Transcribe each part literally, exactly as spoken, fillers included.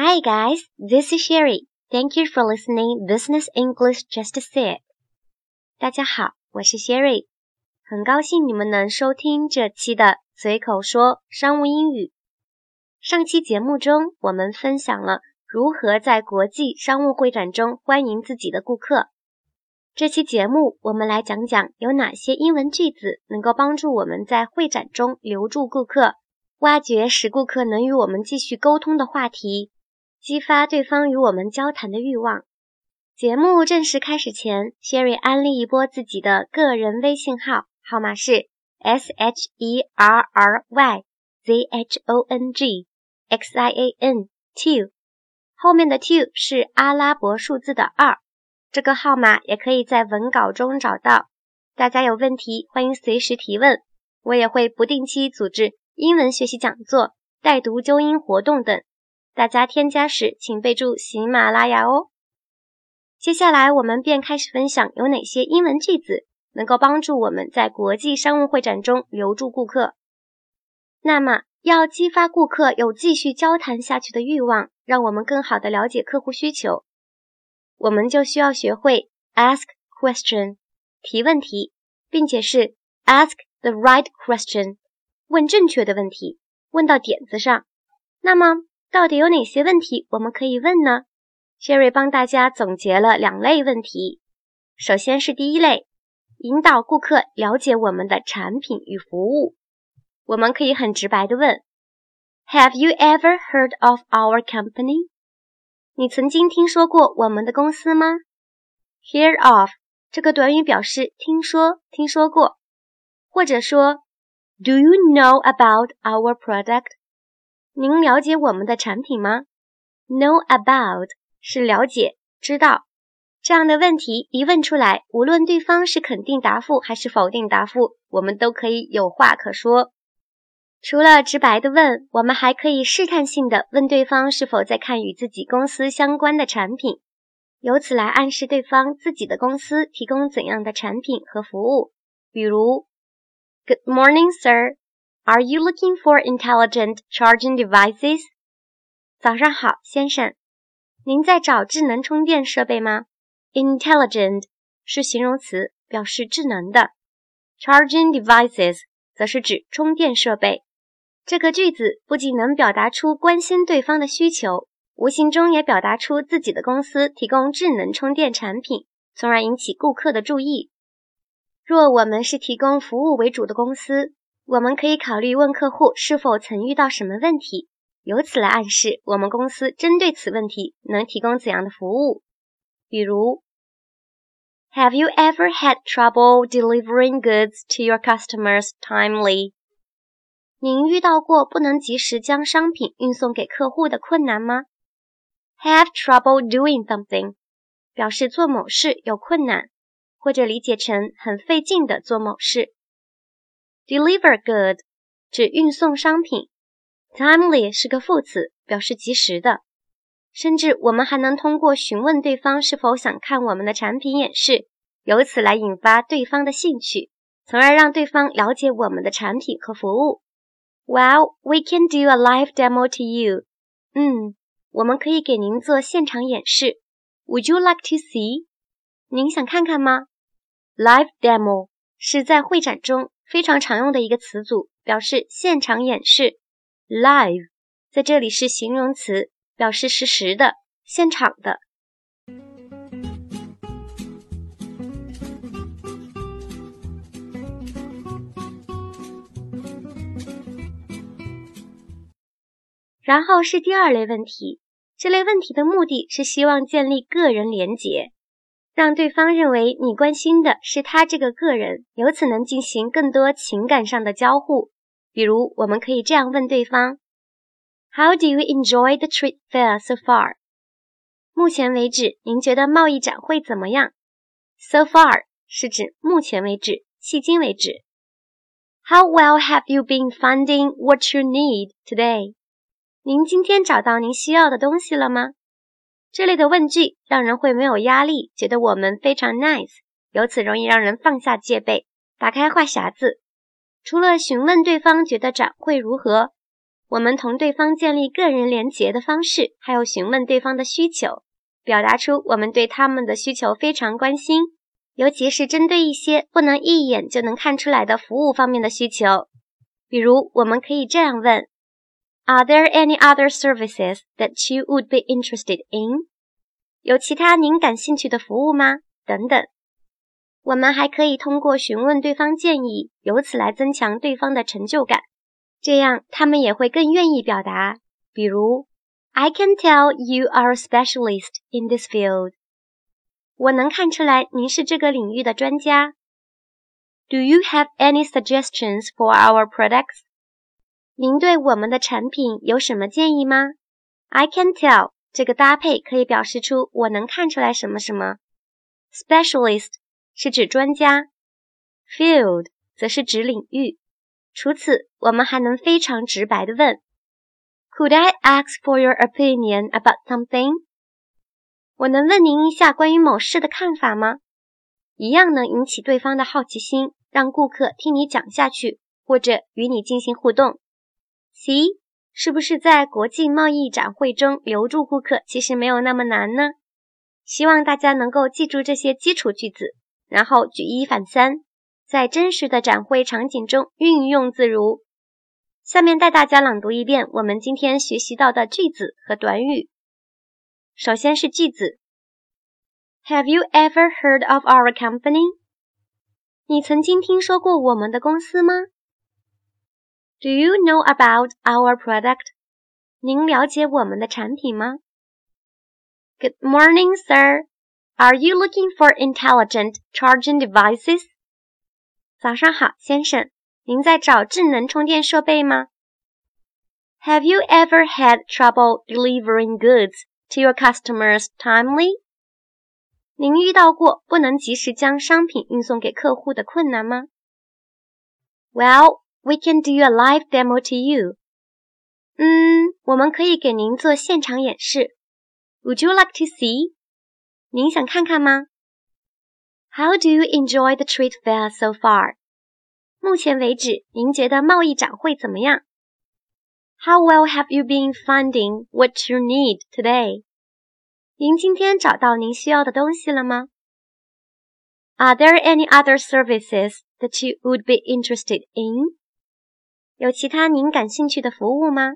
Hi guys, this is Sherry. Thank you for listening Business English Just Said. 大家好，我是 Sherry， 很高兴你们能收听这期的随口说商务英语。上期节目中，我们分享了如何在国际商务会展中欢迎自己的顾客。这期节目我们来讲讲有哪些英文句子能够帮助我们在会展中留住顾客，挖掘使顾客能与我们继续沟通的话题，激发对方与我们交談的欲望。节目正式开始前 Sherry 安利一波自己的个人微信号，号码是 S H E R R Y Z H O N G X I A N two， 后面的two是阿拉伯数字的二，这个号码也可以在文稿中找到。大家有问题欢迎随时提问，我也会不定期组织英文学习讲座、带读纠音活动等，大家添加时请备注喜马拉雅哦。接下来我们便开始分享有哪些英文句子能够帮助我们在国际商务会展中留住顾客。那么要激发顾客有继续交谈下去的欲望，让我们更好地了解客户需求，我们就需要学会 ask question 提问题，并且是 ask the right question 问正确的问题，问到点子上。那么到底有哪些问题我们可以问呢？ Sherry 帮大家总结了两类问题。首先是第一类，引导顾客了解我们的产品与服务。我们可以很直白地问 Have you ever heard of our company？ 你曾经听说过我们的公司吗？ Hear of 这个短语表示听说、听说过，或者说 Do you know about our product？ 您了解我们的产品吗？ Know about 是了解、知道。这样的问题一问出来，无论对方是肯定答复还是否定答复，我们都可以有话可说。除了直白的问，我们还可以试探性的问对方是否在看与自己公司相关的产品，由此来暗示对方自己的公司提供怎样的产品和服务。比如 Good morning, sir. Are you looking for intelligent charging devices? 早上好，先生。您在找智能充电设备吗？ Intelligent 是形容词，表示智能的。Charging devices 则是指充电设备。这个句子不仅能表达出关心对方的需求，无形中也表达出自己的公司提供智能充电产品，从而引起顾客的注意。若我们是提供服务为主的公司，我们可以考虑问客户是否曾遇到什么问题，由此来暗示我们公司针对此问题能提供怎样的服务。比如 Have you ever had trouble delivering goods to your customers timely? 您遇到过不能及时将商品运送给客户的困难吗？ Have trouble doing something 表示做某事有困难，或者理解成很费劲的做某事。Deliver good 指运送商品， timely 是个副词，表示及时的。甚至我们还能通过询问对方是否想看我们的产品演示，由此来引发对方的兴趣，从而让对方了解我们的产品和服务。Well, we can do a live demo to you. 嗯，我们可以给您做现场演示。Would you like to see? 您想看看吗？ Live demo 是在会展中非常常用的一个词组，表示现场演示。Live 在这里是形容词，表示实时的、现场的。然后是第二类问题，这类问题的目的是希望建立个人连结，让对方认为你关心的是他这个个人，由此能进行更多情感上的交互。比如我们可以这样问对方 How do you enjoy the trade fair so far? 目前为止您觉得贸易展会怎么样？ So far 是指目前为止，迄今为止。 How well have you been finding what you need today? 您今天找到您需要的东西了吗？这类的问句让人会没有压力，觉得我们非常 nice， 由此容易让人放下戒备，打开话匣子。除了询问对方觉得展会如何， 我们同对方建立个人连结的方式，还有询问对方的需求，表达出我们对他们的需求非常关心，尤其是针对一些不能一眼就能看出来的服务方面的需求。比如，我们可以这样问 Are there any other services that you would be interested in? 有其他您感兴趣的服务吗？等等。我们还可以通过询问对方建议，由此来增强对方的成就感，这样他们也会更愿意表达。比如 I can tell you are a specialist in this field. 我能看出来您是这个领域的专家。Do you have any suggestions for our products? 您对我们的产品有什么建议吗？ I can tell 这个搭配可以表示出我能看出来什么什么。Specialist 是指专家， Field 则是指领域。除此，我们还能非常直白地问 Could I ask for your opinion about something? 我能问您一下关于某事的看法吗？一样能引起对方的好奇心，让顾客听你讲下去，或者与你进行互动。See? 是不是在国际贸易展会中留住顾客其实没有那么难呢？希望大家能够记住这些基础句子，然后举一反三，在真实的展会场景中运用自如。下面带大家朗读一遍我们今天学习到的句子和短语。首先是句子 Have you ever heard of our company? 你曾经听说过我们的公司吗？ Do you know about our product? 您了解我们的产品吗？ Good morning, sir. Are you looking for intelligent charging devices? 早上好，先生，您在找智能充电设备吗？ Have you ever had trouble delivering goods to your customers timely? 您遇到过不能及时将商品运送给客户的困难吗？ Well, we can do a live demo to you. 嗯，我们可以给您做现场演示。Would you like to see? 您想看看吗？ How do you enjoy the trade fair so far? 目前为止，您觉得贸易展会怎么样？ How well have you been finding what you need today? 您今天找到您需要的东西了吗？ Are there any other services that you would be interested in? 有其他您感兴趣的服务吗？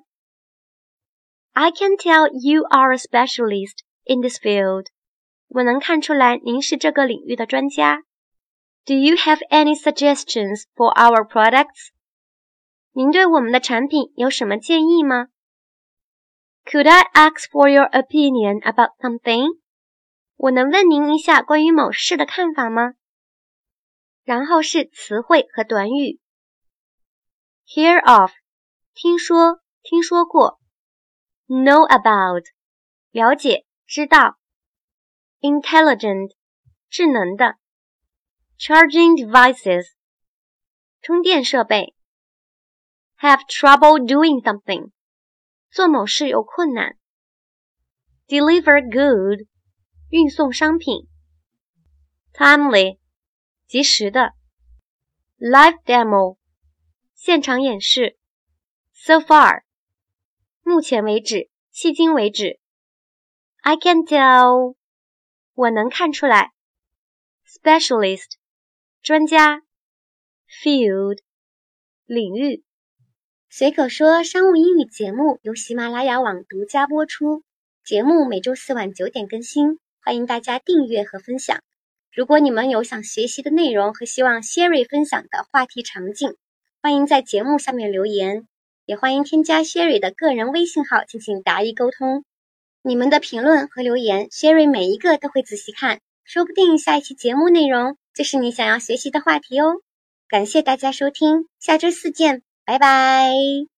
I can tell you are a specialist in this field. 我能看出来您是这个领域的专家。Do you have any suggestions for our products? 您对我们的产品有什么建议吗？ Could I ask for your opinion about something? 我能问您一下关于某事的看法吗？然后是词汇和短语。Hear of 听说，听说过。Know about 了解，知道。Intelligent 智能的。Charging devices 充电设备。Have trouble doing something 做某事有困难。Deliver good 运送商品。Timely 及时的。Live demo 现场演示。So far 目前为止，迄今为止。I can tell 我能看出来。Specialist 专家。Field 领域。随口说商务英语节目由喜马拉雅网独家播出，节目每周四晚九点更新，欢迎大家订阅和分享。如果你们有想学习的内容和希望 Sherry 分享的话题场景，欢迎在节目下面留言，也欢迎添加 Sherry 的个人微信号进行答疑沟通。你们的评论和留言 Sherry 每一个都会仔细看，说不定下一期节目内容就是你想要学习的话题哦。感谢大家收听，下周四见，拜拜。